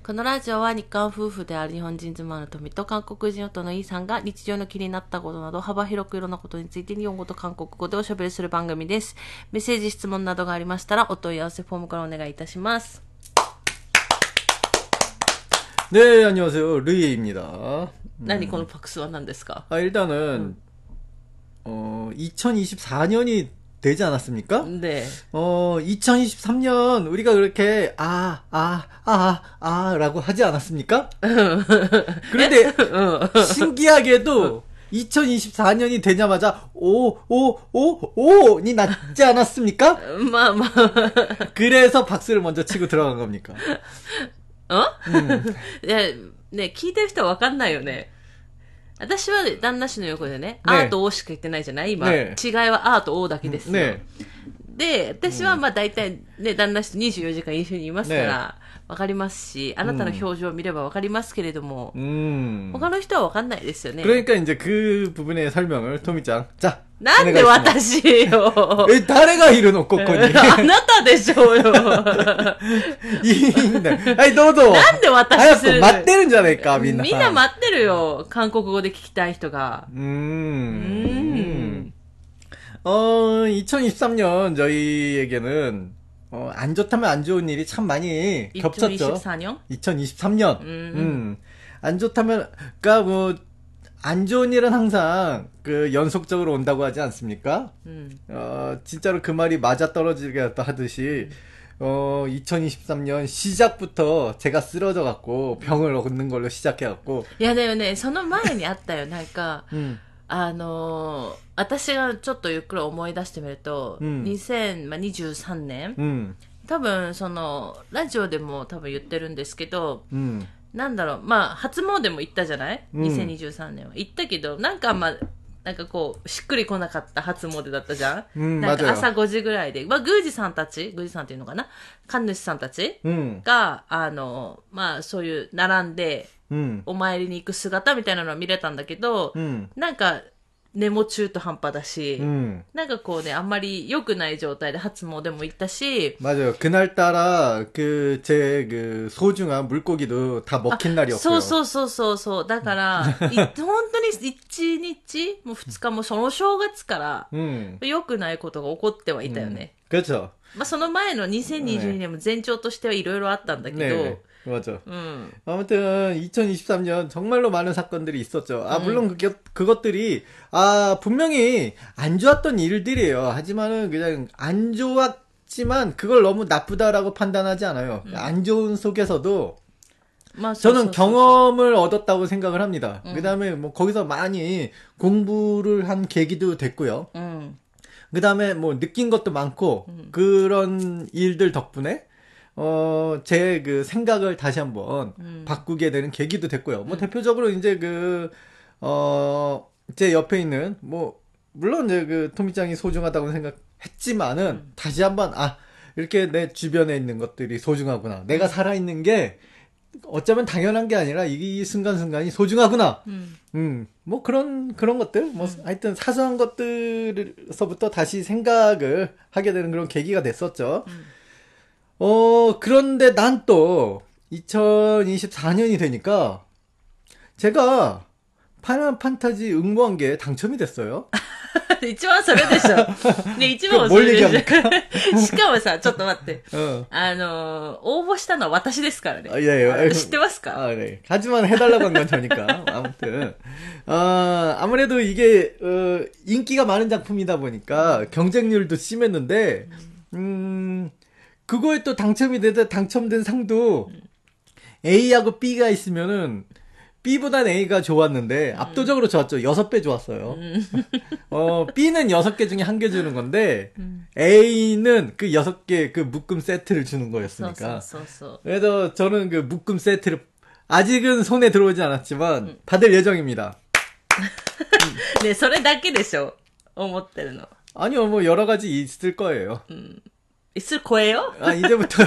このラジオは日韓夫婦である日本人妻の富と韓国人夫のイーさんが日常の気になったことなど幅広くいろんなことについて日本語と韓国語でおしゃべりする番組です。メッセージ、質問などがありましたらお問い合わせフォームからお願いいたします。 네, 안녕하세요. 르이입니다. 何このパクスは何ですか? 일단은 2024년이 되지 않았습니까? 네. 2023년 우리가 그렇게 라고 하지 않았습니까? 그런데 신기하게도 2024년이 되자마자 니 났지 않았습니까? 그래서 박수를 먼저 치고 들어간 겁니까? ね、聞いてる人はわかんないよね。私は旦那氏の横でね、アーと O しか言ってないじゃない今、違いはアーと O だけですよ。で、私はまあ大体ね、旦那氏と24時間一緒にいますから、わかりますし、あなたの表情を見ればわかりますけれども、他の人はわかんないですよね。 그러니까 이제 그 부분의 설명을 토미짱. 자, なんで私よ。 誰がいるのここに。 あなたでしょうよ。 いいんだよ。はい、どうぞ。 なんで私するの。 早く待ってるんじゃないか、みんな。 みんな待ってるよ。韓国語で聞きたい人が。 2023년 저희에게는 안 좋다면 안 좋은 일이 참 많이 겹쳤죠. 2024년? 2023년. 안 좋다면, 그니까 뭐, 안 좋은 일은 항상 그 연속적으로 온다고 하지 않습니까? 진짜로 그 말이 맞아떨어지겠다 하듯이, 2023년 시작부터 제가 쓰러져 갖고 병을 얻는 걸로 시작해 갖고. いやだよね、その前にあったよ、なんか、私がちょっとゆっくり思い出してみると、2023年、多分そのラジオでも多分言ってるんですけど、なんだろう、まあ初詣も行ったじゃない、2023年は行ったけど、なんかなんかこうしっくりこなかった初詣だったじゃん、なんか朝5時ぐらいで、まあ、宮司さんっていうのかな、神主さんたちが、まあそういう並んで、お参りに行く姿みたいなのは見れたんだけど、なんか根も中途半端だし、なんかこうね、あんまり良くない状態で初詣も行ったし。 맞아요. 그날따라 제 소중한 물고기도 다 먹힌 날이었고요. そう。だから、本当に1日も2日もその正月から、良くないことが起こってはいたよね。 그렇죠. まあその前の2022年も前兆としてはいろいろあったんだけど、 맞아. 아무튼 2023년 정말로 많은 사건들이 있었죠. 물론 그것들이 분명히 안 좋았던 일들이에요. 하지만은 그냥 안 좋았지만 그걸 너무 나쁘다라고 판단하지 않아요. 안 좋은 속에서도 저는 경험을 얻었다고 생각을 합니다. 그다음에 뭐 거기서 많이 공부를 한 계기도 됐고요. 그다음에 뭐 느낀 것도 많고 그런 일들 덕분에 제 그 생각을 다시 한번 바꾸게 되는 계기도 됐고요. 뭐 대표적으로 이제 제 옆에 있는 뭐 물론 이제 그 토미짱이 소중하다고 생각했지만은 다시 한번 이렇게 내 주변에 있는 것들이 소중하구나. 내가 살아있는 게 어쩌면 당연한 게 아니라 이 순간순간이 소중하구나. 뭐 그런 것들, 뭐 하여튼 사소한 것들서부터 다시 생각을 하게 되는 그런 계기가 됐었죠. 그런데 난 또 2024년이 되니까 제가 파이널 판타지 응모한 게 당첨이 됐어요. 一番それでしょ。ね、一番はそれでしょ。しかもさ、ちょっと待って。応募したのは私ですからね。知ってますか? 네. 하지만 해달라고 한 건 저니까. 아무튼. 아무래도 이게, 인기가 많은 작품이다 보니까 경쟁률도 심했는데, 그거에 또 당첨된 상도 A하고 B가 있으면은 B보단 A가 좋았는데 압도적으로 좋았죠. 6배 좋았어요. B는 6개 중에 1개 주는 건데 A는 그 6개 그 묶음 세트를 주는 거였으니까. 그래서 저는 그 묶음 세트를 아직은 손에 들어오지 않았지만 받을 예정입니다. 네, それだけでしょ. 思ってるの. 아니요, 뭐 여러 가지 있을 거예요. 있을 거예요? 이제부터.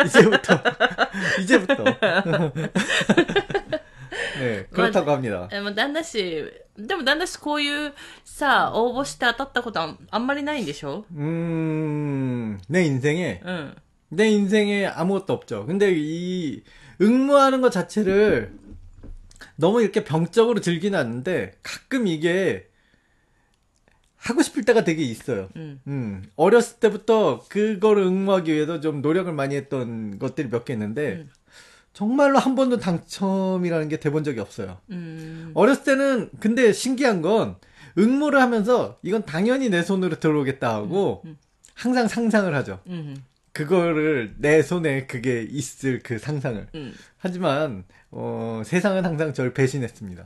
네, 그렇다고 합니다. でも旦那氏こういうさ、応募して当たったことあんまりないんでしょ? 내 인생에 아무것도 없죠. 근데 이 응모하는 것 자체를 너무 이렇게 병적으로 즐기는 않는데 가끔 이게 하고 싶을 때가 되게 있어요. 어렸을 때부터 그거를 응모하기 위해서 좀 노력을 많이 했던 것들이 몇 개 있는데 정말로 한 번도 당첨이라는 게 돼본 적이 없어요. 어렸을 때는 근데 신기한 건 응모를 하면서 이건 당연히 내 손으로 들어오겠다 하고 항상 상상을 하죠. 그거를 내 손에 그게 있을 그 상상을. 하지만 세상은 항상 저를 배신했습니다.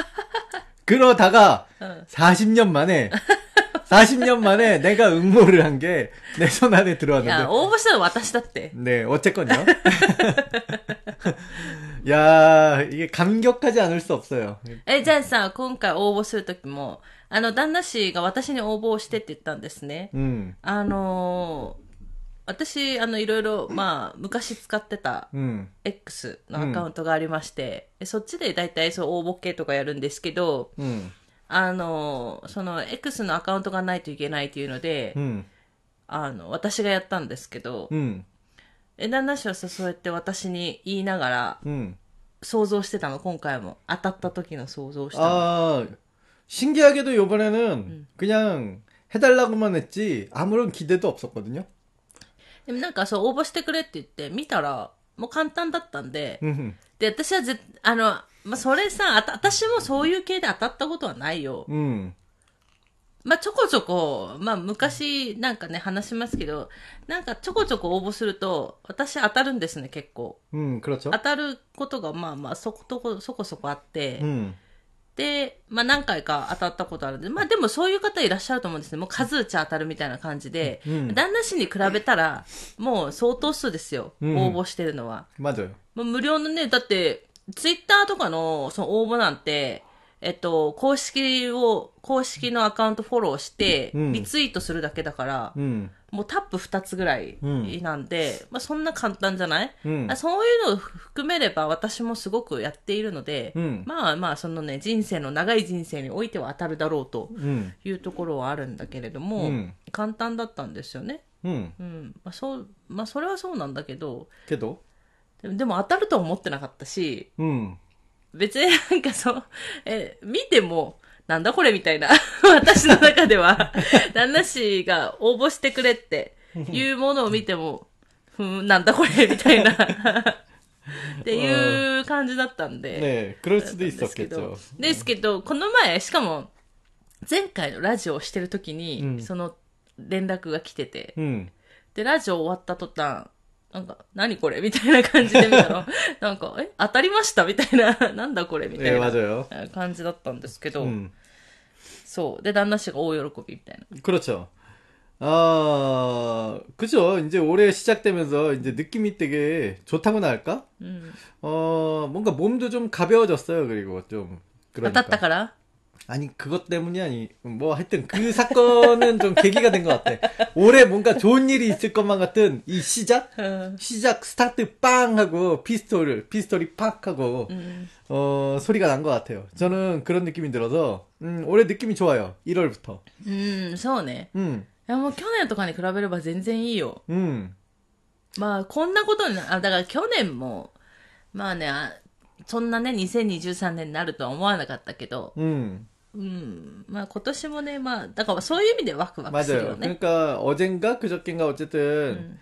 그러다가 40년 만에 내가 응모를 한 게 내 손 안에 들어왔는데. 야, 応募したの私だって. 네, 어쨌건요. 야, 이게 감격하지 않을 수 없어요. じゃあさ、今回応募するときも、旦那氏が私に応募してって言ったんですね。私、いろいろ、まあ、昔使ってた X のアカウントがありまして、そっちで大体そう応募系とかやるんですけど、その X のアカウントがないといけないっていうので、私がやったんですけど、旦那氏はさ、そうやって私に言いながら、想像してたの、今回も。当たった時の想像したの。 신기하게도 요번에는 그냥 해달라고만 했지 아무런 기대도 없었거든요. でもなんかそう応募してくれって言って見たらもう簡単だったんで、で私はまあ、それさ私もそういう系で当たったことはないよ。まあちょこちょこまあ昔なんかね話しますけどなんかちょこちょこ応募すると私当たるんですね結構。 그렇죠. 当たることがまあまあそこそこあって。で、まあ何回か当たったことあるんで、まあでもそういう方いらっしゃると思うんですね。もう数打ち当たるみたいな感じで、旦那氏に比べたら、もう相当数ですよ。応募してるのは。 맞아요。 もう無料のね、だって、ツイッターとかのその応募なんて、公式のアカウントフォローして、リツイートするだけだから、もうタップ2つぐらいなんで、まあそんな簡単じゃない、そういうのを含めれば私もすごくやっているので、まあまあそのね、長い人生においては当たるだろうというところはあるんだけれども、簡単だったんですよね。まあそれはそうなんだけど、でも当たるとは思ってなかったし、別になんか見ても、なんだこれみたいな。私の中では、旦那氏が応募してくれっていうものを見ても、なんだこれみたいな。っていう感じだったんで。 ね그럴 수도 있었겠죠。 ですけど、この前、しかも、前回のラジオをしてる時に、その連絡が来てて、で、ラジオ終わった途端、なんか、何これみたいな感じで見たら、なんか、当たりましたみたいな、なんだこれみたいな感じだったんですけど、そう。で、旦那氏が大喜びみたいな。 그렇죠. 그죠. 이제 올해 시작되면서 이제 느낌이 되게 좋다고나 할까? 뭔가 몸도 좀 가벼워졌어요. 그리고 좀. 그러니까.当たったから? 아니 그것 때문이 뭐 하여튼 그 사건은 좀 계기가 된 것 같아. 올해 뭔가 좋은 일이 있을 것만 같은 이 시작 스타트 빵 하고 피스톨이 팍 하고 소리가 난 것 같아요. 저는 그런 느낌이 들어서 올해 느낌이 좋아요. 1월부터. そうね。いやもう去年とかに比べれば全然いいよ。まあこんなことにだから去年もまあねそんなね2023年になるとは思わなかったけど。まあ今年もねまあだからそういう意味でワクワクするよね。 그러니까 어젠가 그저께인가 어쨌든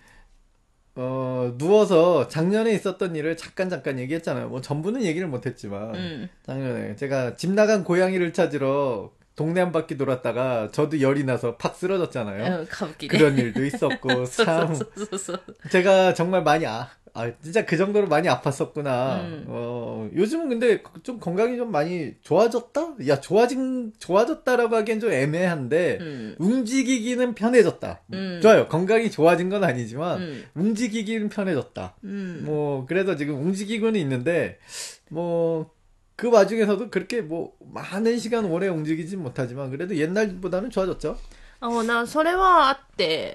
누워서 작년에 있었던 일을 잠깐 얘기했잖아요. 뭐 전부는 얘기를 못했지만 작년에 제가 집 나간 고양이를 찾으러 동네 한 바퀴 돌았다가 저도 열이 나서 팍 쓰러졌잖아요. 그런 일도 있었고 참 제가 정말 많이 진짜 그 정도로 많이 아팠었구나. 요즘은 근데 좀 건강이 좀 많이 좋아졌다? 야, 좋아졌다라고 하기엔 좀 애매한데, 움직이기는 편해졌다. 좋아요. 건강이 좋아진 건 아니지만, 움직이기는 편해졌다. 뭐, 그래서 지금 움직이고는 있는데, 뭐, 그 와중에서도 그렇게 뭐, 많은 시간 오래 움직이진 못하지만, 그래도 옛날보다는 좋아졌죠. それはあって、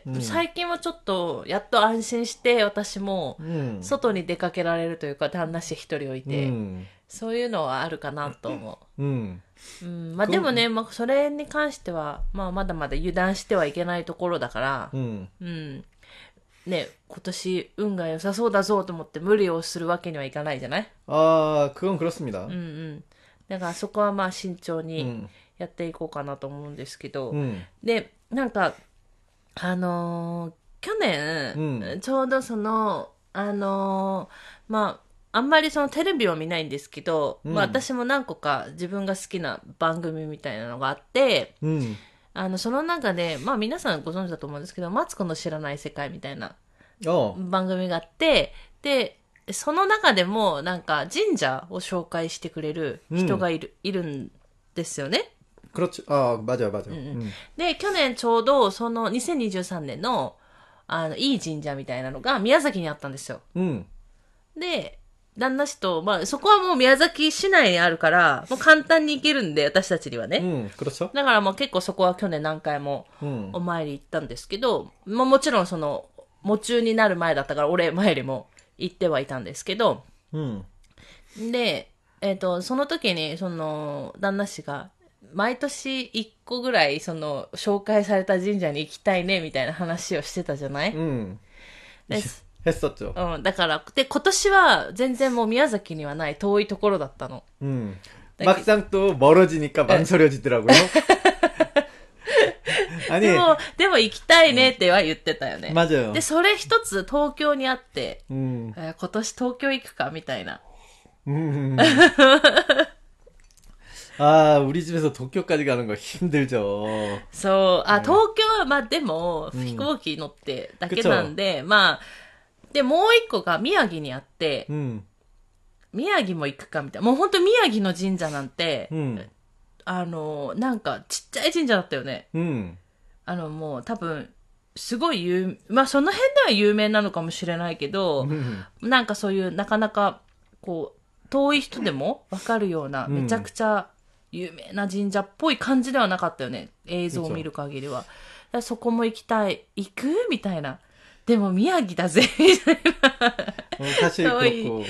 最近はちょっとやっと安心して私も外に出かけられるというか旦那氏一人置いて、そういうのはあるかなと思う。まあでもね、まあ、それに関しては、まあ、まだまだ油断してはいけないところだから、 ね、今年運が良さそうだぞと思って無理をするわけにはいかないじゃない？ 그건 그렇습니다. だからそこはまあ慎重にやっていこうかなと思うんですけど、で、なんか、去年、ちょうどその、まあ、あんまりそのテレビを見ないんですけど、まあ私も何個か自分が好きな番組みたいなのがあって、その中で、まあ皆さんご存知だと思うんですけど、マツコの知らない世界みたいな番組があって、で、その中でもなんか神社を紹介してくれる人がいるんですよね。 맞아요. で、去年ちょうどその2023年のいい神社みたいなのが宮崎にあったんですよ。で、旦那氏と、まあそこはもう宮崎市内にあるから、もう簡単に行けるんで、私たちにはね。だからもう結構そこは去年何回もお参り行ったんですけど、まあもちろんその、喪中になる前だったから、俺前よりも行ってはいたんですけど、で、その時に、その、旦那氏が、毎年一個ぐらい、その、紹介された神社に行きたいね、みたいな話をしてたじゃない？ 했었죠. だから、で、今年は全然もう宮崎にはない遠いところだったの。 막상 또 멀어지니까 망설여지더라고요. でも行きたいねっては言ってたよね。 맞아요. で、それ一つ東京にあって、今年東京行くかみたいな。 우리 집에서 도쿄까지 가는 거 힘들죠. そう、東京は、まあでも、飛行機乗ってだけなんで、まあ、で、もう一個が宮城にあって、宮城も行くかみたいな。もう本当宮城の神社なんて、なんかちっちゃい神社だったよね。もう多分、すごいまあその辺では有名なのかもしれないけど、なんかそういうなかなか、こう、遠い人でもわかるような、めちゃくちゃ有名な神社っぽい感じではなかったよね。映像を見る限りは。そこも行きたい。行くみたいな。でも宮城だぜ。みたいな。 사실 그렇고.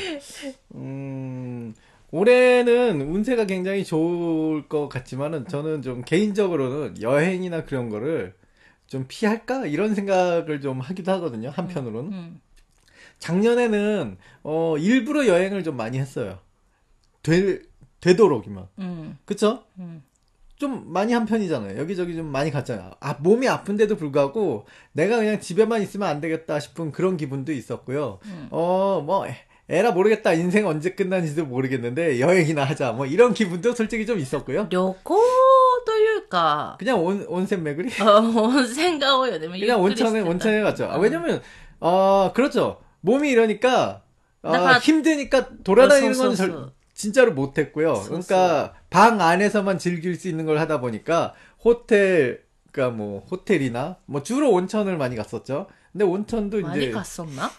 올해는 운세가 굉장히 좋을 것 같지만은 저는 좀 개인적으로는 여행이나 그런 거를 좀 피할까? 이런 생각을 좀 하기도 하거든요. 한편으로는. 작년에는 일부러 여행을 좀 많이 했어요. 되도록이면. 그쵸? 좀 많이 한 편이잖아요. 여기저기 좀 많이 갔잖아요. 몸이 아픈데도 불구하고 내가 그냥 집에만 있으면 안 되겠다 싶은 그런 기분도 있었고요. 뭐 에라 모르겠다. 인생 언제 끝나는지도 모르겠는데 여행이나 하자. 뭐 이런 기분도 솔직히 좀 있었고요. 旅行というか 그냥 온센巡り? 温泉が多いよね. 그냥 온천에 갔죠. 왜냐면 그렇죠. 몸이 이러니까 힘드니까 돌아다니는 건 진짜로 못했고요. 그러니까 방 안에서만 즐길 수 있는 걸 하다 보니까 그러니까 뭐 호텔이나 뭐 주로 온천을 많이 갔었죠. 근데 온천도 많이 이제 갔었나?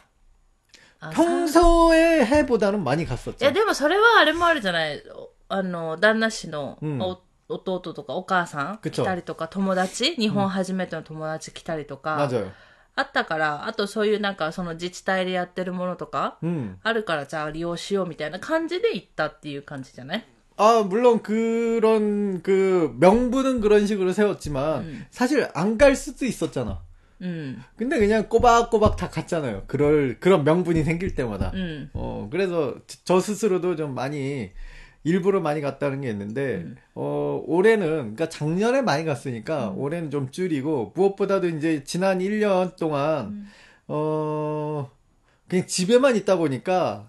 평소에 해보다는 많이 갔었죠. いやでもそれはあれもあるじゃない。旦那氏の弟とかお母さん来たりとか、友達、日本初めての友達来たりとか。 맞아요. あったから、あとそういうなんかその自治体でやってるものとか、あるからじゃあ利用しようみたいな感じで行ったっていう感じじゃない？ 물론 그런 명분은 그런 식으로 세웠지만 사실 안 갈 수도 있었잖아. 근데 그냥 꼬박꼬박 다 갔잖아요. 그런 명분이 생길 때마다. 그래서 저 스스로도 좀 많이 일부러 많이 갔다는 게 있는데, 올해는, 그러니까 작년에 많이 갔으니까, 올해는 좀 줄이고, 무엇보다도 이제 지난 1년 동안, 그냥 집에만 있다 보니까,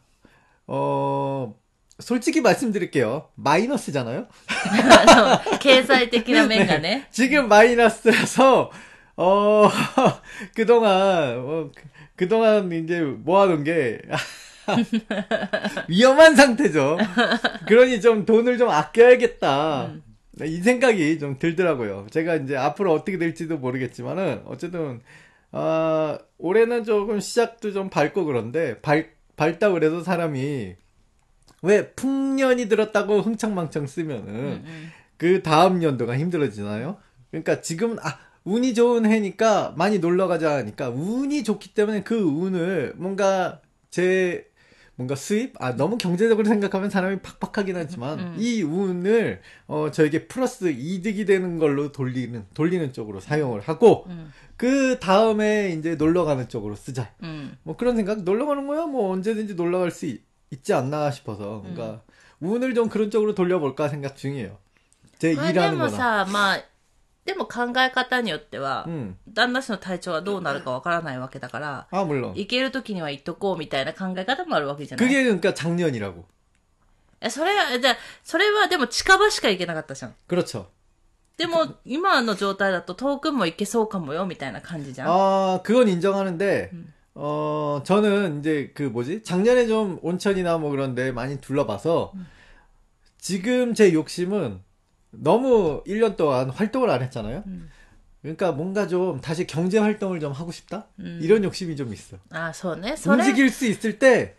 솔직히 말씀드릴게요. 마이너스잖아요? 経済的な面がね. 지금 마이너스라서, 그동안 이제 모아놓은 게, 위험한 상태죠. 그러니 좀 돈을 좀 아껴야겠다. 이 생각이 좀 들더라고요. 제가 이제 앞으로 어떻게 될지도 모르겠지만은, 어쨌든, 올해는 조금 시작도 좀 밝고 그런데, 밝다 그래도 사람이, 왜 풍년이 들었다고 흥청망청 쓰면은, 그 다음 연도가 힘들어지나요? 그러니까 지금, 운이 좋은 해니까 많이 놀러 가자 하니까, 운이 좋기 때문에 그 운을 뭔가 뭔가 수입? 너무 경제적으로 생각하면 사람이 팍팍하긴 하지만, 이 운을, 저에게 플러스 이득이 되는 걸로 돌리는 쪽으로 사용을 하고, 그 다음에 이제 놀러 가는 쪽으로 쓰자. 뭐 그런 생각? 놀러 가는 거야? 뭐 언제든지 놀러 갈 수 있지 않나 싶어서, 그러니까, 운을 좀 그런 쪽으로 돌려볼까 생각 중이에요. 제 일하는 거나. でも考え方によっては、旦那氏の体調はどうなるかわからないわけだから、 물론. 行ける時には行っとこうみたいな考え方もあるわけじゃない。 그게 그러니까 작년이라고. それはでも近場しか行けなかったじゃん。 그렇죠. でも今の状態だと遠くも行けそうかもよみたいな感じじゃん。 그건 인정하는데, 저는 이제 작년에 좀 온천이나 뭐 그런데 많이 둘러봐서, 지금 제 욕심은 너무 1년 동안 활동을 안 했잖아요. 그러니까 뭔가 좀 다시 경제 활동을 좀 하고 싶다? 이런 욕심이 좀 있어. 소네. 움직일 수 있을 때,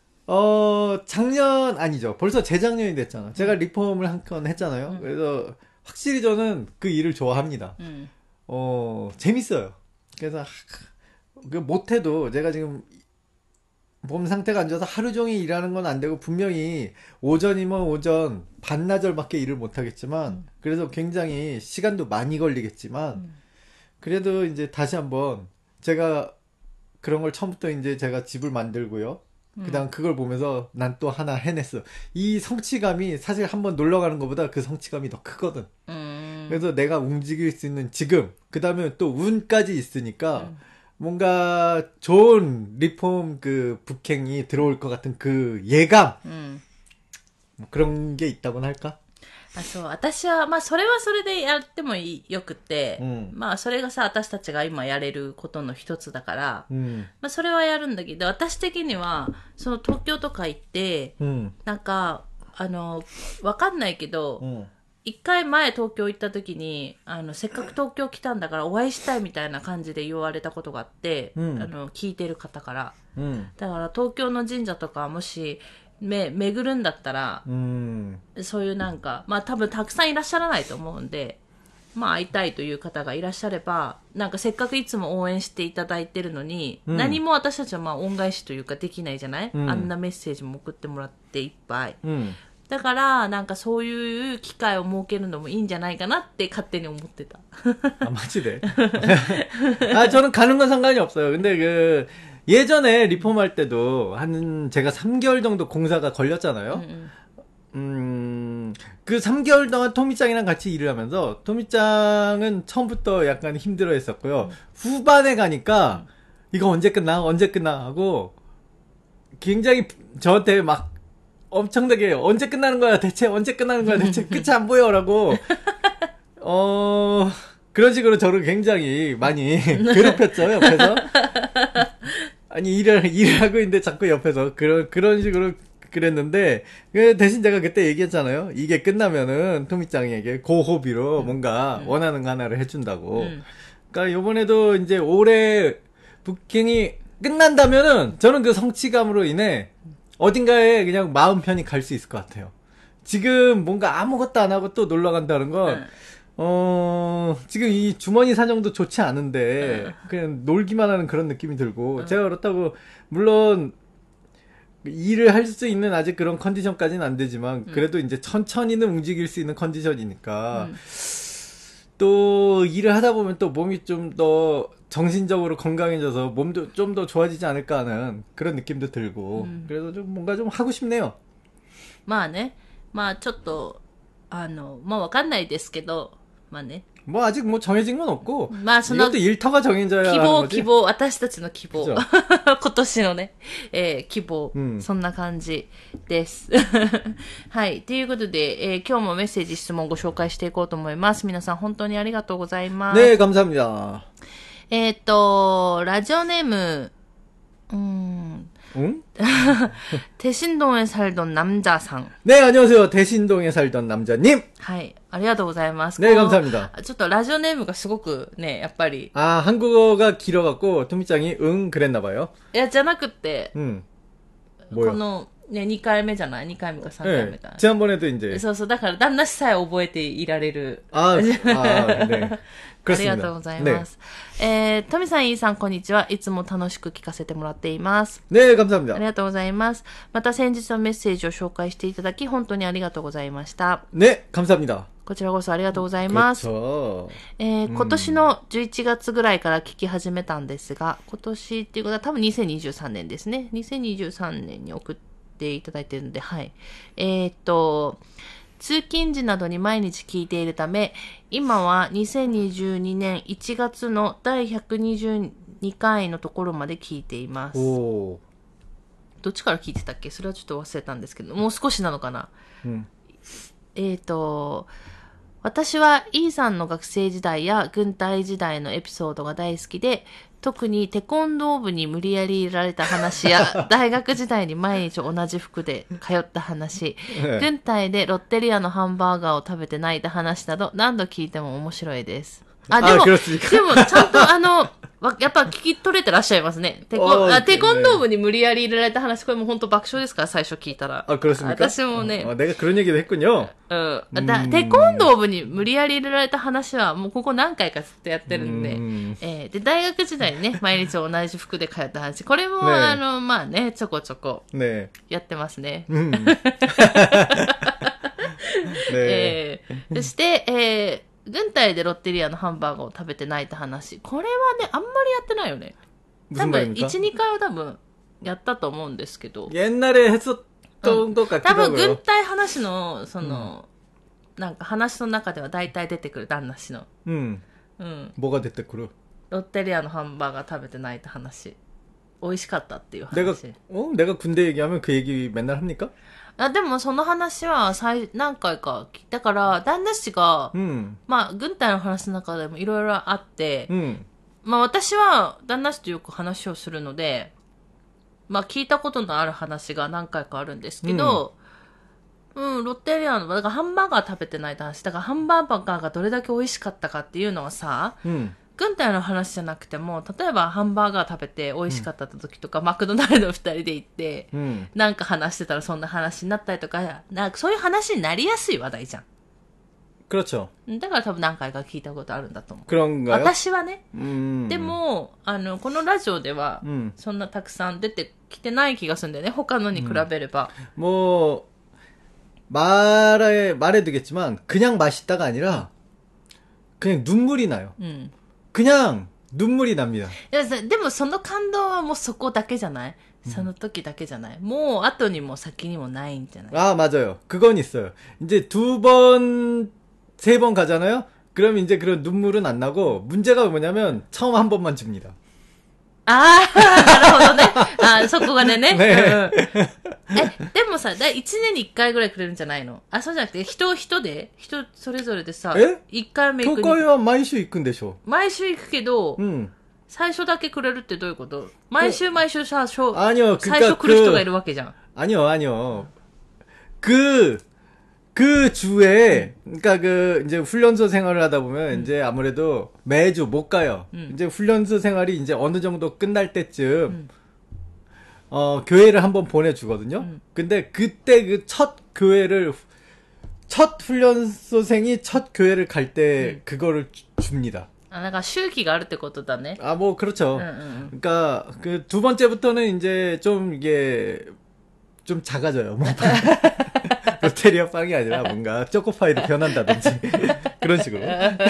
작년 아니죠. 벌써 재작년이 됐잖아. 제가 리폼을 한 건 했잖아요. 그래서 확실히 저는 그 일을 좋아합니다. 재밌어요. 그래서 못해도 제가 지금 몸 상태가 안 좋아서 하루 종일 일하는 건 안 되고 분명히 오전이면 오전 반나절밖에 일을 못 하겠지만 그래서 굉장히 시간도 많이 걸리겠지만 그래도 이제 다시 한번 제가 그런 걸 처음부터 이제 제가 집을 만들고요. 그다음 그걸 보면서 난 또 하나 해냈어. 이 성취감이 사실 한번 놀러 가는 것보다 그 성취감이 더 크거든. 그래서 내가 움직일 수 있는 지금 그다음에 또 운까지 있으니까 뭔가 좋은 리폼 북행이 들어올 것 같은 그 예감 뭐 그런 게 있다고는 할까? そう、私は、それはそれでやってもよくて、それがさ、私たちが今やれることの一つだから、それはやるんだけど、私的には、その東京とか行って、なんか、わかんないけど、一回前東京行った時に、せっかく東京来たんだからお会いしたいみたいな感じで言われたことがあって、聞いてる方から。だから東京の神社とかもし、巡るんだったら、そういうなんか、多分たくさんいらっしゃらないと思うんで、会いたいという方がいらっしゃれば、なんかせっかくいつも応援していただいてるのに、何も私たちは恩返しというかできないじゃない、あんなメッセージも送ってもらっていっぱい。だから、なんかそういう機会を設けるのもいいんじゃないかなって勝手に思ってた。 마치네. 저는 가는 건 상관이 없어요. 근데 예전에 리폼할 때도 제가 3개월 정도 공사가 걸렸잖아요. 그 3개월 동안 토미짱이랑 같이 일을 하면서 토미짱은 처음부터 약간 힘들어 했었고요. 후반에 가니까 이거 언제 끝나 하고 굉장히 저한테 막 엄청나게 언제 끝나는 거야 대체 끝이 안 보여라고 그런 식으로 저를 굉장히 많이 괴롭혔죠 옆에서. 아니 일을 하고 있는데 자꾸 옆에서 그런 식으로 그랬는데 대신 제가 그때 얘기했잖아요. 이게 끝나면은 토미짱에게 고호비로 뭔가 원하는 거 하나를 해준다고. 그러니까 요번에도 이제 올해 북행이 끝난다면은 저는 그 성취감으로 인해 어딘가에 그냥 마음 편히 갈 수 있을 것 같아요. 지금 뭔가 아무것도 안 하고 또 놀러 간다는 건 지금 이 주머니 사정도 좋지 않은데 그냥 놀기만 하는 그런 느낌이 들고 제가 그렇다고 물론 일을 할 수 있는 아직 그런 컨디션까지는 안 되지만 그래도 이제 천천히는 움직일 수 있는 컨디션이니까 또 일을 하다 보면 또 몸이 좀 더 정신적으로 건강해져서 몸도 좀 더 좋아지지 않을까 하는 그런 느낌도 들고 그래서 좀 뭔가 좀 하고 싶네요. ね。ちょっとわかんないですけど、ね。 뭐 아직 뭐 정해진 건 없고 이것도 일터가 정해져야 하는 거지. 希望私たちの希望今年のね、希望、そんな感じですはいということで、今日もメッセージ質問をご紹介していこうと思います。皆さん本当にありがとうございます。 네 감사합니다. ラジオネーム대신동에 살던 남자상. 네, 안녕하세요. 대신동에 살던 남자님. はい、ありがとうございます。 네, 감사합니다. ちょっとラジオネームがすごくね、やっぱり。 한국어가 길어갖고 토미짱이 그랬나봐요. いや、じゃなくて、 뭐요? このね、2回目じゃない ?2 回目か3回目か。 지난번에도 이제. そうそう、だから旦那氏さえ覚えていられる。 ね。ありがとうございます。トミさん、イーさん、こんにちは。いつも楽しく聞かせてもらっています。 ね、감사합니다。 ありがとうございます。また先日のメッセージを紹介していただき、本当にありがとうございました。 ね、감사합니다。 こちらこそありがとうございます。今年の11月ぐらいから聞き始めたんですが、今年っていうことは多分2023年ですね。2023年に送っていただいているので、はい。通勤時などに毎日聞いているため、今は2022年1月の第122回のところまで聞いています。どっちから聞いてたっけ？それはちょっと忘れたんですけど、もう少しなのかな。私は E さんの学生時代や軍隊時代のエピソードが大好きで、特にテコンドー部に無理やり入れられた話や、大学時代に毎日同じ服で通った話、軍隊でロッテリアのハンバーガーを食べて泣いた話など、何度聞いても面白いです。でもちゃんとやっぱ聞き取れてらっしゃいますね。テコンドー部に無理やり入れられた話、これも本当爆笑ですから、最初聞いたら。私もね。 내가 그런 얘기도 했군요。 テコンドー部に無理やり入れられた話は、もうここ何回かずっとやってるんで。で、大学時代にね、毎日同じ服で通った話。これも、まあね、ちょこちょこ。やってますね。そして、軍隊でロッテリアのハンバーガーを食べて泣いた話。これはね、あんまりやってないよね。多分、1、2回は多分、やったと思うんですけど。 옛날에했었던 것 같기도 하고요。 多分、軍隊話の、なんか話の中では大体出てくる、旦那氏の。 뭐가出てくる？ ロッテリアのハンバーガー食べて泣いた話。美味しかったっていう話。 내가 군대 얘기하면 그 얘기 맨날 합니까？ でもその話は何回か聞いたから、旦那氏が、まあ、軍隊の話の中でもいろいろあって、まあ私は旦那氏とよく話をするので、まあ聞いたことのある話が何回かあるんですけど、ロッテリアの、だからハンバーガー食べてないって話、だからハンバーガーがどれだけ美味しかったかっていうのはさ、軍隊の話じゃなくても、例えばハンバーガー食べて美味しかった時とか、マクドナルド2人で行って、なんか話してたらそんな話になったりとか、なんかそういう話になりやすい話題じゃん。 그렇죠。 だから多分何回か聞いたことあるんだと思う。 그런가요？ 私はね。でも、このラジオでは、そんなたくさん出てきてない気がするんだよね。他のに比べれば。 もう、말해두겠지만, 그냥 맛있다가 아니라, 그냥 눈물이 나요。그냥 눈물이 납니다。 でもその感動はもうそこだけじゃない？その時だけじゃない？もう後にも先にもないんじゃない？ 맞아요。그건 있어요。이제 2번, 3번 가잖아요? 그럼 이제 그런 눈물은 안 나고, 문제가 뭐냐면, 처음 한 번만 줍니다。 なるほどね。そこがね。でもさ、1年に1回ぐらいくれるんじゃないの？そうじゃなくて、人それぞれでさ、1回目行くに。 教会は毎週行くんでしょ？ 毎週行くけど、最初だけくれるってどういうこと？毎週さ、最初来る人がいるわけじゃん。 아니요。그 주에, 그러니까 이제 훈련소 생활을 하다 보면, 이제 아무래도 매주 못 가요. 이제 훈련소 생활이 이제 어느 정도 끝날 때쯤, 교회를 한번 보내주거든요. 근데 그때 첫 훈련소생이 첫 교회를 갈 때 그거를 줍니다. 그러니까周期があるってことだね. 뭐, 그렇죠. 그러니까 그 두 번째부터는 이제 좀 이게, 좀 작아져요. 롯데리아 빵이 아니라 뭔가 초코파이로 변한다든지 그런 식으로. じゃあ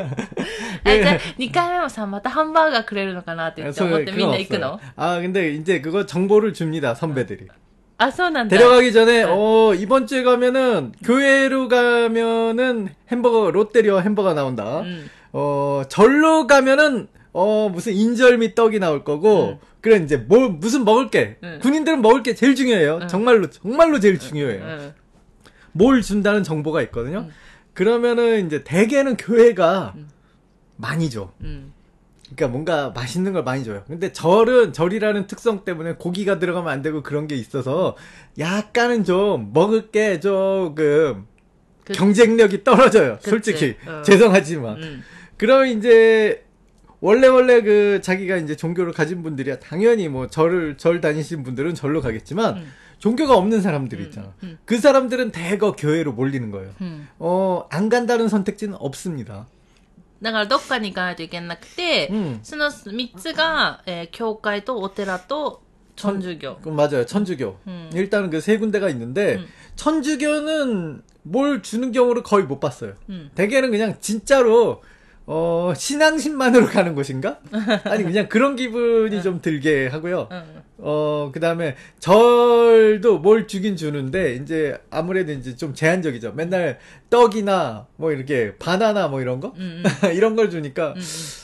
2回目もさ、またハンバーガーくれるのかなって思ってみんな行くの？ 근데 이제 그거 정보를 줍니다, 선배들이. そうなんだ. 데려가기 전에 이번 주에 가면은 교회로 가면은 롯데리아 햄버거 나온다. 절로 가면은 무슨 인절미 떡이 나올 거고 그래 이제 무슨 먹을 게 군인들은 먹을 게 제일 중요해요. 정말로 제일 중요해요. 뭘 준다는 정보가 있거든요. 그러면은 이제 대개는 교회가 많이 줘. 그러니까 뭔가 맛있는 걸 많이 줘요. 근데 절이라는 특성 때문에 고기가 들어가면 안 되고 그런 게 있어서 약간은 좀 먹을 게 조금 경쟁력이 떨어져요. 솔직히. 죄송하지만. 그럼 이제 원래 자기가 이제 종교를 가진 분들이야 당연히 뭐 절 다니신 분들은 절로 가겠지만 종교가 없는 사람들이 있잖아. 그 사람들은 대거 교회로 몰리는 거예요. 안 간다는 선택지는 없습니다. だからどっかに行かないといけなくて、その3つが、教会とお寺と 천주교. 맞아요. 천주교. 일단은 그 세 군데가 있는데 천주교는 뭘 주는 경우를 거의 못 봤어요. 대개는 그냥 진짜로 신앙심만으로 가는 곳인가? 아니 그냥 그런 기분이 좀 들게 하고요. 그다음에 절도 뭘 주긴 주는데 이제 아무래도 이제 좀 제한적이죠. 맨날 떡이나 뭐 이렇게 바나나 뭐 이런 거 이런 걸 주니까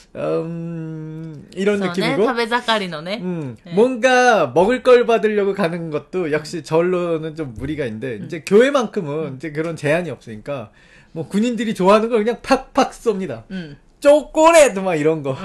이런 느낌이고. 食べ盛りのね. 뭔가 먹을 걸 받으려고 가는 것도 역시 절로는 좀 무리가 있는데 이제 교회만큼은 이제 그런 제한이 없으니까 뭐 군인들이 좋아하는 걸 그냥 팍팍 쏩니다. 초콜릿 막 이런 거.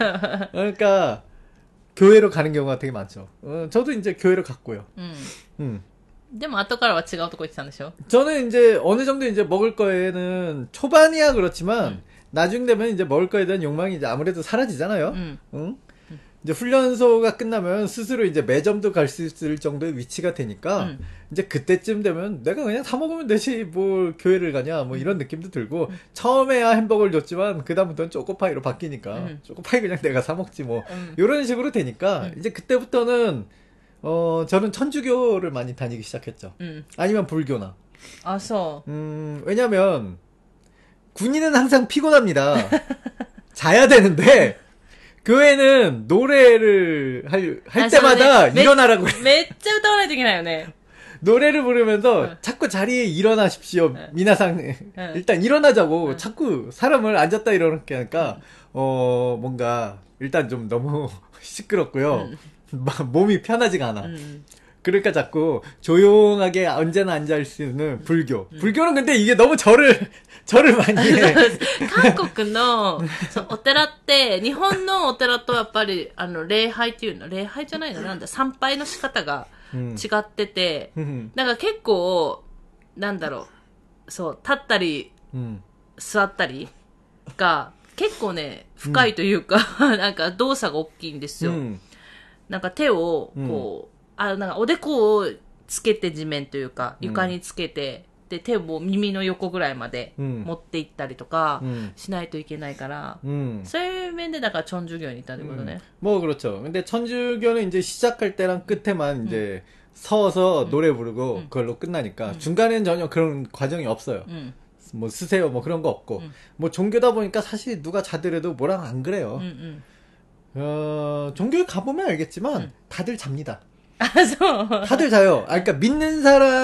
그러니까 교회로 가는 경우가 되게 많죠. 저도 이제 교회로 갔고요. でも後からは違うとこ行ってたんでしょ? 저는 이제 어느 정도 이제 먹을 거에는 초반이야 그렇지만 나중 되면 이제 먹을 거에 대한 욕망이 이제 아무래도 사라지잖아요. 응? 이제 훈련소가 끝나면 스스로 이제 매점도 갈 수 있을 정도의 위치가 되니까 이제 그때쯤 되면 내가 그냥 사 먹으면 되지 뭘 교회를 가냐 뭐 이런 느낌도 들고 처음에야 햄버거를 줬지만 그다음부터는 초코파이로 바뀌니까 초코파이 그냥 내가 사 먹지 뭐 이런 식으로 되니까 이제 그때부터는 저는 천주교를 많이 다니기 시작했죠. 아니면 불교나. 아서. 왜냐면 군인은 항상 피곤합니다. 자야 되는데 교회는 노래를 할 때마다 일어나라고 해. めっちゃ歌わないといけないよね. 노래를 부르면서 자꾸 자리에 일어나십시오. 미나상 일단 일어나자고 자꾸 사람을 앉았다 일어나게 하니까 뭔가 일단 좀 너무 시끄럽고요. 몸이 편하지가 않아. 그러니까 자꾸 조용하게 언제나 앉아있을 수 있는 불교. 불교는 근데 이게 너무 절을 많이 해. 韓国のお寺って、日本のお寺とやっぱり、礼拝っていうの、礼拝じゃないのなんだ、参拝の仕方が違ってて、だから結構、なんだろう、そう、立ったり、座ったりが、結構ね、深いというか、なんか動作が大きいんですよ。なんか手を、こう、なんかおでこをつけて地面というか、床につけて、で、手を耳の横ぐらいまで持っていったりとかしないといけないから、そういう面でだから천주교에 있다ってことね. 뭐 그렇죠. 근데 천주교는 이제 시작할 때랑 끝에만 이제 서서 노래 부르고 그걸로 끝나니까 중간에는 전혀 그런 과정이 없어요. 뭐 쓰세요 뭐 그런 거 없고 뭐 종교다 보니까 사실 누가 자더라도 뭐랑 안 그래요. 종교에 가보면 알겠지만 다들 잡니다. 다들 자요. 그러니까 믿는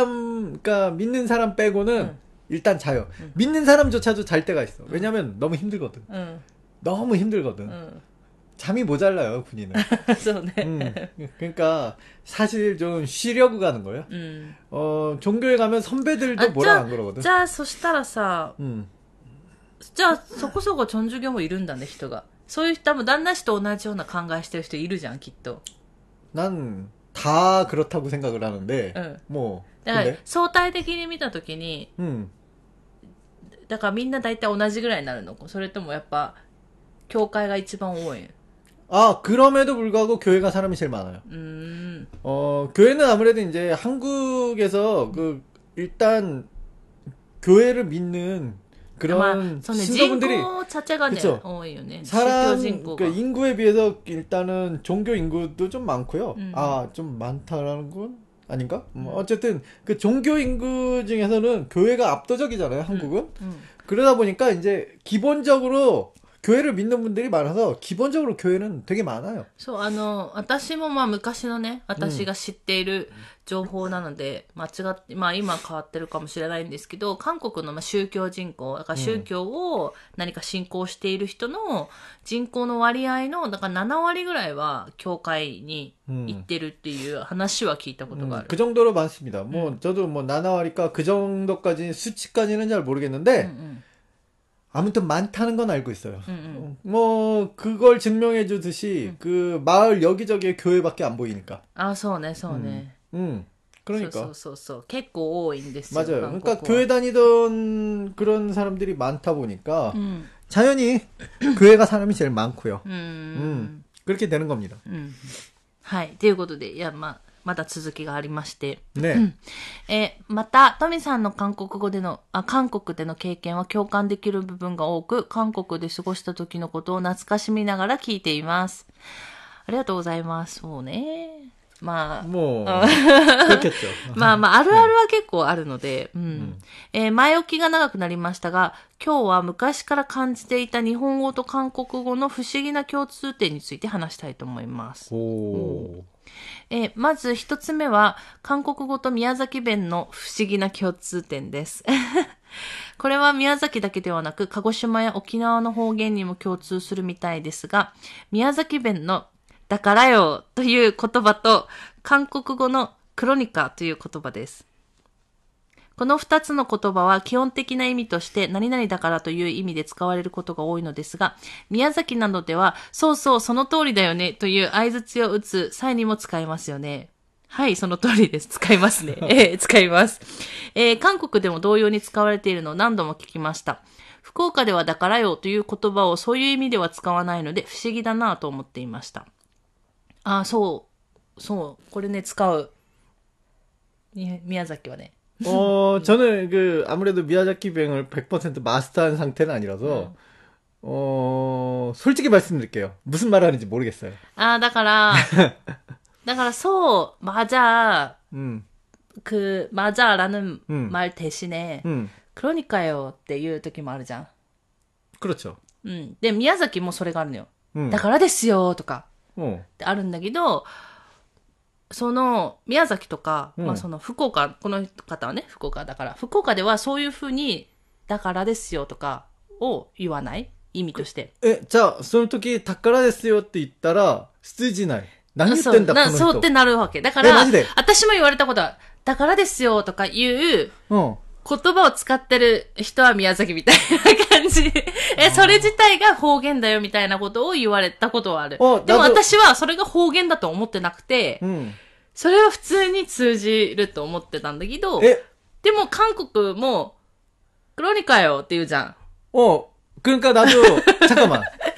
사람 빼고는 일단 자요. 믿는 사람조차도 잘 때가 있어. 왜냐면 너무 힘들거든. 너무 힘들거든. 잠이 모자라요, 군인은. 그러니까 사실 좀 쉬려고 가는 거예요. 종교에 가면 선배들도 뭐라 안 그러거든. じゃあそしたらさ、じゃあそこそこ천주교もいるんだね、人が。そういう人多分旦那氏と同じような考えしてる人いるじゃん、きっと。 난 다 그렇다고 생각을 하는데, 뭐. だから相対的に見たときに、だからみんな大体同じぐらいになるの？それともやっぱ教会が一番多い？ 그럼에도 불구하고 교회가 사람이 제일 많아요. 교회는 아무래도 이제 한국에서 일단 교회를 믿는 그런 신도분들이 그쵸. 사람 그러니까 인구에 비해서 일단은 종교 인구도 좀 많고요. 좀 많다라는 건 아닌가? 어쨌든 그 종교 인구 중에서는 교회가 압도적이잖아요, 한국은. 그러다 보니까 이제 기본적으로 교회를 믿는 분들이 많아서 기본적으로 교회는 되게 많아요. そう、私もまあ昔のね、私が知っている情報なので、間違って、まあ今変わってるかもしれないんですけど、韓国のまあ宗教人口、だから宗教を何か信仰している人の人口の割合の、だから7割ぐらいは教会に行ってるっていう話は聞いたことがある。 그 정도로 많습니다. 뭐 저도 뭐 7割까 그 정도까지 수치까지는 잘 모르겠는데 아무튼 많다는 건 알고 있어요. 뭐 그걸 증명해 주듯이 그 마을 여기저기에 교회밖에 안 보이니까. そうね, そうね. 그러니까. そう. 結構多いんですよ. 맞아요. 그러니까 교회 다니던 그런 사람들이 많다 보니까 자연히 교회가 사람이 제일 많고요. 그렇게 되는 겁니다. はい。ということで、いやまあまだ続きがありまして。 ね。 また、トミさんの韓国での経験は共感できる部分が多く、韓国で過ごした時のことを懐かしみながら聞いています。ありがとうございます。そうね。まあ。 もう、まあ、あるあるは結構あるので、前置きが長くなりましたが、今日は昔から感じていた日本語と韓国語の不思議な共通点について話したいと思います。まず一つ目は、韓国語と宮崎弁の不思議な共通点です。これは宮崎だけではなく、鹿児島や沖縄の方言にも共通するみたいですが、宮崎弁のだからよという言葉と、韓国語のクロニカという言葉です。この二つの言葉は基本的な意味として何々だからという意味で使われることが多いのですが、宮崎などではそうそうその通りだよねという相槌を打つ際にも使いますよね。はい、その通りです。使いますね。使います。韓国でも同様に使われているのを何度も聞きました。福岡ではだからよという言葉をそういう意味では使わないので不思議だなと思っていました。そう、これね、使う。宮崎はね。 저는 아무래도 미야자키뱅을 100% 마스터한 상태는 아니라서, 솔직히 말씀드릴게요. 무슨 말 하는지 모르겠어요. だからそう、맞아. 맞아라는 말 대신에, 그러니까요 っていう時もあるじゃん。 그렇죠. で、宮崎もそれがあるのよ。だからですよとか。ってあるんだけど、その、宮崎とか、その福岡、この方はね、福岡だから、福岡ではそういうふうに、だからですよとかを言わない意味として。 じゃあ、その時、だからですよって言ったら、通じない。何言ってんだ、この人。 そうってなるわけ。だから、私も言われたことは、だからですよとか言う、言葉を使ってる人は宮崎みたいな感じ。それ自体が方言だよみたいなことを言われたことはある。でも私はそれが方言だと思ってなくて、それは普通に通じると思ってたんだけど、でも韓国も、クロニカよって言うじゃん。 그러니까 잠깐만.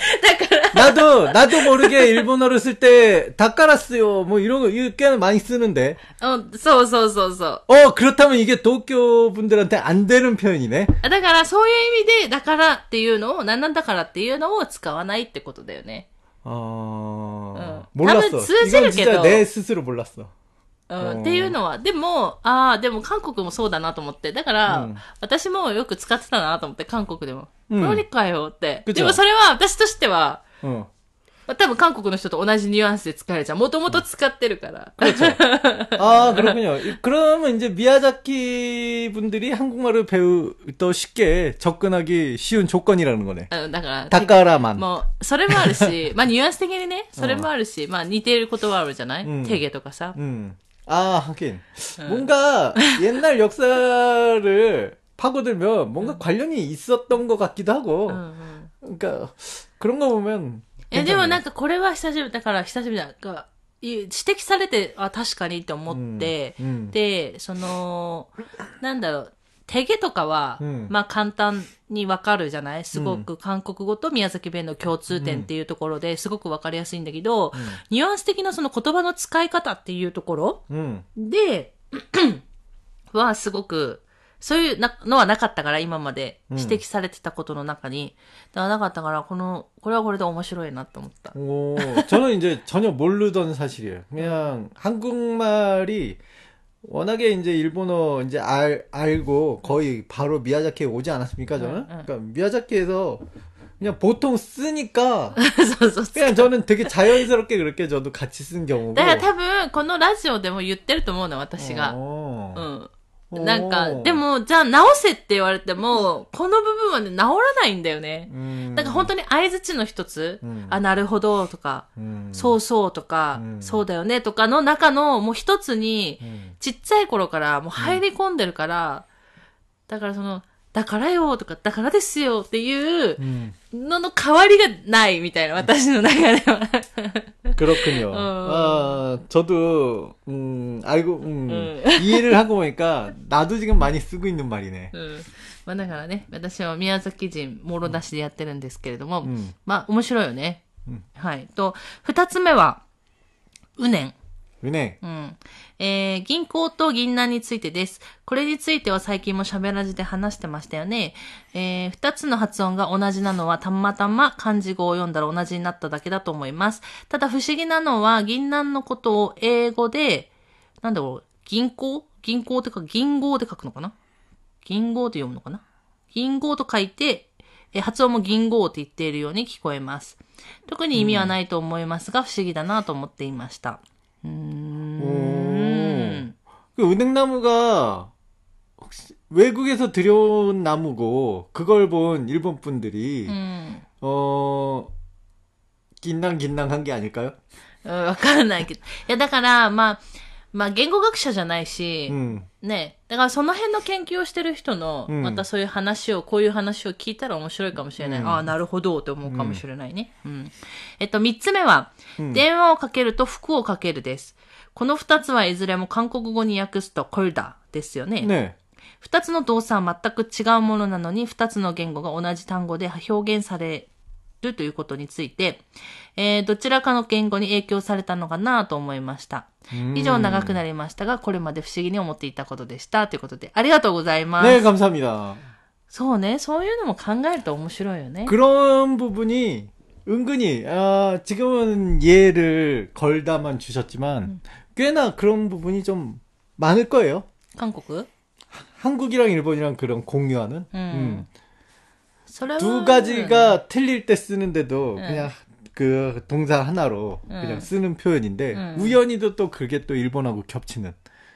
나도 모르게 일본어를 쓸 때, 닭가라스요, 뭐 이런 거, 이렇게는 많이 쓰는데. そう。 그렇다면 이게 도쿄 분들한테 안 되는 표현이네? だから、そういう意味で、だからっていうのを、なんだからっていうのを使わないってことだよね。 몰랐어. 多分通じるけど。 이건 진짜 내 스스로 몰랐어. っていうのは、でも韓国もそうだなと思って。だから、私もよく使ってたなと思って、韓国でも。何かよって。でもそれは、私としては、多分韓国の人と同じニュアンスで使えるじゃん。もともと使ってるから。 그렇죠. 그렇군요. 그러면 이제 미야자키 분들이 한국말을 더 쉽게 접근하기 쉬운 조건이라는 거네. だから、 다까라만. もう、それもあるし、ニュアンス的にね、それもあるし、似ている言葉あるじゃないテゲとかさ。 하긴. 뭔가 옛날 역사를 파고들면 뭔가 관련이 있었던 것 같기도 하고. 그러니까 그런 거 보면. でもなんかこれは久しぶりだ。指摘されて、確かにって思って、で、なんだろう、テゲとかは、簡単にわかるじゃない？すごく韓国語と宮崎弁の共通点っていうところですごくわかりやすいんだけど、ニュアンス的なその言葉の使い方っていうところで、はすごく、そういうのはなかったから、今まで指摘されてたことの中に。だからなかったから、これはこれで面白いなと思った。 저는 이제 전혀 모르던 사실이에요. 그냥 한국말이 워낙에 이제 일본어 이제 알고 거의 바로 미야자키에 오지 않았습니까, 저는? 그러니까 미야자키에서 그냥 보통 쓰니까 그냥 저는 되게 자연스럽게 그렇게 저도 같이 쓴 경우고. だから多分このラジオでも言ってると思うの、私が。なんか、でも、じゃあ直せって言われても、この部分はね、直らないんだよね。なんか本当に相槌の一つ、なるほどとか、そうそうとか、そうだよねとかの中のもう一つに、ちっちゃい頃からもう入り込んでるから、だからだからよとか、だからですよっていうのの代わりがないみたいな、私の中では。 그렇군요. 저도, 알고, 이해를 하고 보니까, 나도 지금 많이 쓰고 있는 말이네. だからね、私は宮崎人、もろ出しでやってるんですけれども、面白いよね。はい。と、二つ目は、うねん。 은행. 銀行と銀杏についてです。これについては最近も喋らじで話してましたよね。二つの発音が同じなのはたまたま漢字語を読んだら同じになっただけだと思います。ただ不思議なのは銀杏のことを英語で、なんだろう、銀行ってか銀号で書くのかな銀号で読むのかな銀号と書いて、発音も銀号って言っているように聞こえます。特に意味はないと思いますが、不思議だなと思っていました。 그 은행나무가 혹시 외국에서 들여온 나무고 그걸 본 일본 분들이 긴낭한 게 아닐까요? わからないけど。いや、だから、まあ、言語学者じゃないし、ね。だからその辺の研究をしてる人の、またそういう話を、こういう話を聞いたら面白いかもしれない。ああ、なるほど、って思うかもしれないね。三つ目は、電話をかけると服をかけるです。この二つはいずれも韓国語に訳すとコルダですよね。ね。二つの動作は全く違うものなのに、二つの言語が同じ単語で表現されるということについて、どちらかの言語に影響されたのかなと思いました。以上長くなりましたが、これまで不思議に思っていたことでした。ということで、ありがとうございます。 ね、감사합니다。 そうね、そういうのも考えると面白いよね。 그런 부분이 은근히 지금은 예를 걸다만 주셨지만 꽤나 그런 부분이 좀 많을 거예요. 한국? 한국이랑 일본이랑 그런 공유하는. 두 가지가 틀릴 때 쓰는데도 그냥 그 동사 하나로 그냥 쓰는 표현인데 우연히도 또 그게 또 일본하고 겹치는.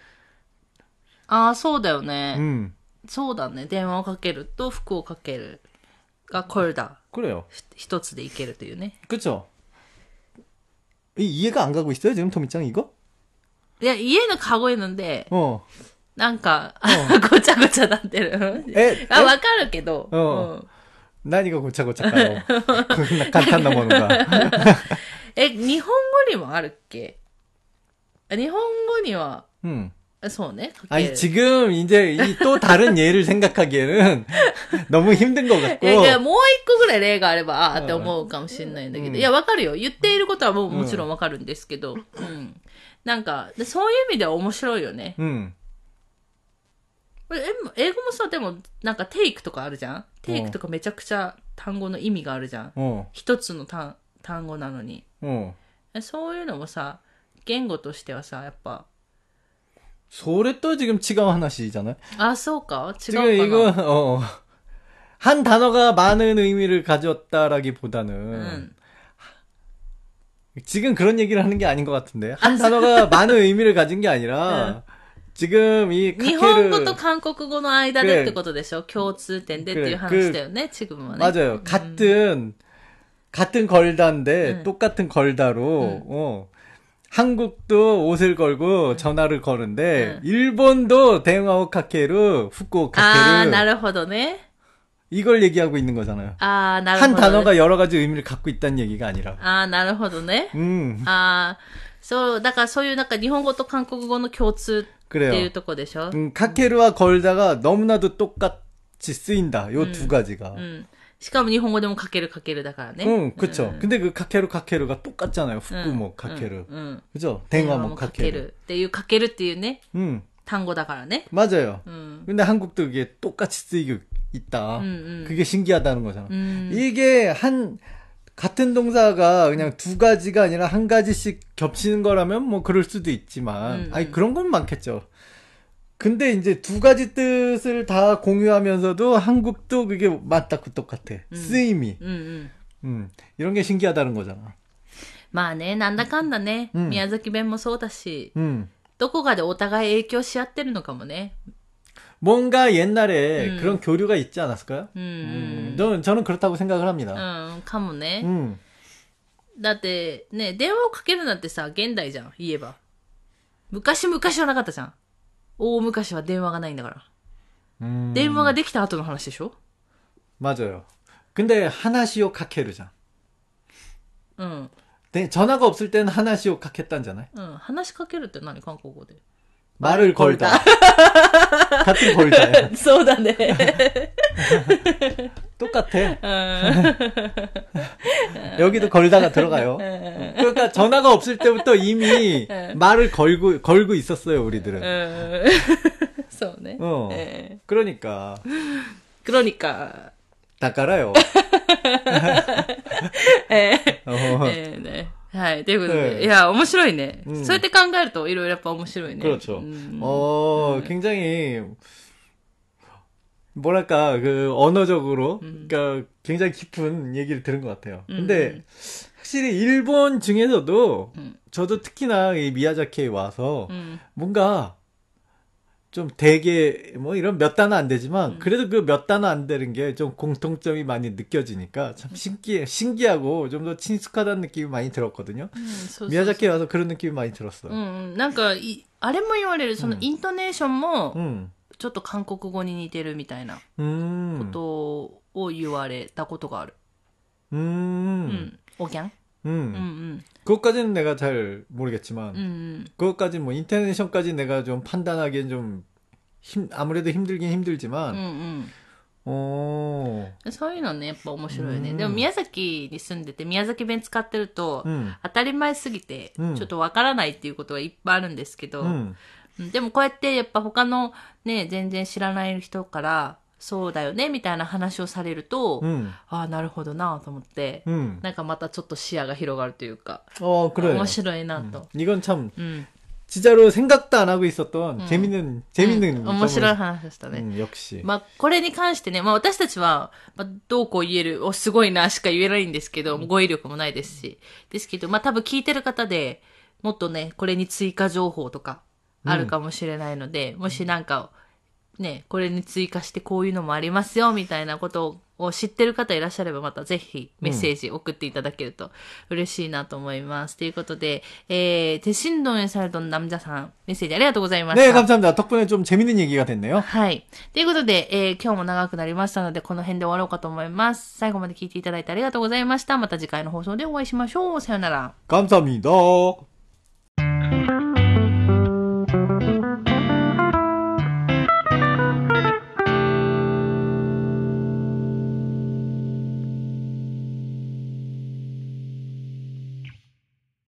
아, そうだよね. そうだね。電話をかけると服をかけるが걸다. 그래요. 一つでいけるというね. 그렇죠. 이해가 안 가고 있어요, 지금 토미짱 이거? いや、家のカゴ있는데なんか、ごちゃごちゃなってる。あ、わかるけど。 何がごちゃごちゃかよ。こんな簡単なものが。 日本語にもあるっけ？日本語には、そうね。 아니, 지금 이제 또 다른 예를 생각하기에는 너무 힘든 것 같고. いや、もう一個ぐらい例があれば、って思うかもしれないんだけど。いや、わかるよ。言っていることはもちろんわかるんですけど。なんか、そういう意味では面白いよね。英語もさ、でも、なんか、テイクとかあるじゃん？テイクとかめちゃくちゃ単語の意味があるじゃん。一つの単語なのに。そういうのもさ、言語としてはさ、やっぱ。 それと지금違う話じゃない？ あ、そうか？違うかな？ 지금 이거, 한 단어가 많은 의미를 가졌다라기보다는, 지금 그런 얘기를 하는 게 아닌 것 같은데. 한 단어가 많은 의미를 가진 게 아니라, 지금 이 日本語と韓国語の間でってことでしょ？共通点でっていう話だよね、지금はね。 맞아요. 같은 걸다인데, 똑같은 걸다로, 한국도 옷을 걸고 전화를 거는데, 일본도 대응하고 카케루, 후쿠오 카케루. 아, なるほどね. 이걸 얘기하고 있는 거잖아요. 아, なるほどね. 한 단어가 여러 가지 의미를 갖고 있다는 얘기가 아니라. 아, なるほどね. 아, そう、だからそういうなんか日本語と韓国語の共通っていうとこでしょ? 카케루와 걸다가 너무나도 똑같이 쓰인다. 요 두 가지가. しかも日本語でもかけるだからね. 그쵸. 근데 그 카케루가 똑같잖아요. 후쿠 뭐 카케루. 그죠? 댕화 뭐 카케루. っていうかけるっていうね. 単語だからね. 맞아요. 근데 한국도 그게 똑같이 쓰이고 있다. 그게 신기하다는 거잖아. 이게 같은 동사가 그냥 두 가지가 아니라 한 가지씩 겹치는 거라면 뭐 그럴 수도 있지만, 아니, 그런 건 많겠죠. 근데 이제 두 가지 뜻을 다 공유하면서도 한국도 그게 맞다고 똑같아. 쓰임이. 이런 게 신기하다는 거잖아. まあね、なんだかんだね、宮崎弁もそうだし、どこかでお互い影響し合ってるのかもね。 뭔가 옛날에 그런 교류가 있지 않았을까요? 저는 그렇다고 생각을 합니다. かもね。だってね、電話をかけるなんてさ、現代じゃん、言えば。昔はなかったじゃん。大昔は電話がないんだから。電話ができた後の話でしょ? 맞아요. 근데 하나시오 카케루잖아. 네, 전화가 없을 때는 하나시오 카케딴잖아요. 하나시 카케루って何? 한국어로. 말을 걸다. 같은 걸다요. そうだね。 똑같아. 여기도 걸다가 들어가요. 그러니까 전화가 없을 때부터 이미 말을 걸고 있었어요, 우리들은. 네. 그러니까. 다 깔아요. ね。はい。ということで。いや、面白いね。そうやって考えると、いろいろやっぱ面白いね。 그렇죠. 굉장히, 뭐랄까, 언어적으로, 그러니까 굉장히 깊은 얘기를 들은 것 같아요. 근데, 확실히 일본 중에서도, 저도 특히나 이 미야자키에 와서, 뭔가, 좀 되게 뭐 이런 몇 단어 안 되지만 그래도 그 몇 단어 안 되는 게 좀 공통점이 많이 느껴지니까 참 신기하고 좀 더 친숙하다는 느낌이 많이 들었거든요. 미야자키에 와서 그런 느낌이 많이 들었어요. なんかあれも言われるそのイントネーションもちょっと韓国語に似てるみたいなことを言われたことがある。おぎゃん? 그것까지는 내가 잘 모르겠지만, 그것까지는 뭐, 인터네이션까지 내가 좀 판단하기엔 좀, 아무래도 힘들긴 힘들지만, そういうのね、やっぱ面白いね。でも宮崎に住んでて、宮崎弁使ってると、当たり前すぎて、ちょっとわからないっていうことがいっぱいあるんですけど、でもこうやってやっぱ他のね、全然知らない人から、そうだよねみたいな話をされると、ああなるほどなと思って、なんかまたちょっと視野が広がるというか、 그래. 面白いなと。 이건 참 진짜로 생각도 안 하고 있었던 재밌는 面白い話でしたね。 역시. まあこれに関してね、まあ私たちは、どうこう言える、すごいなしか言えないんですけど、語彙力もないですし、ですけど、まあ多分聞いてる方でもっとね、これに追加情報とかあるかもしれないので、もしなんかね、これに追加してこういうのもありますよみたいなことを知ってる方いらっしゃればまたぜひメッセージ送っていただけると嬉しいなと思います。ということで、대신동에 살던 남자さんメッセージありがとうございました。 네, 감사합니다. 덕분에 좀 재밌는 얘기가 됐네요. はい。ということで、今日も長くなりましたのでこの辺で終わろうかと思います。最後まで聞いていただいてありがとうございました。また次回の放送でお会いしましょう。さよなら。 감사합니다.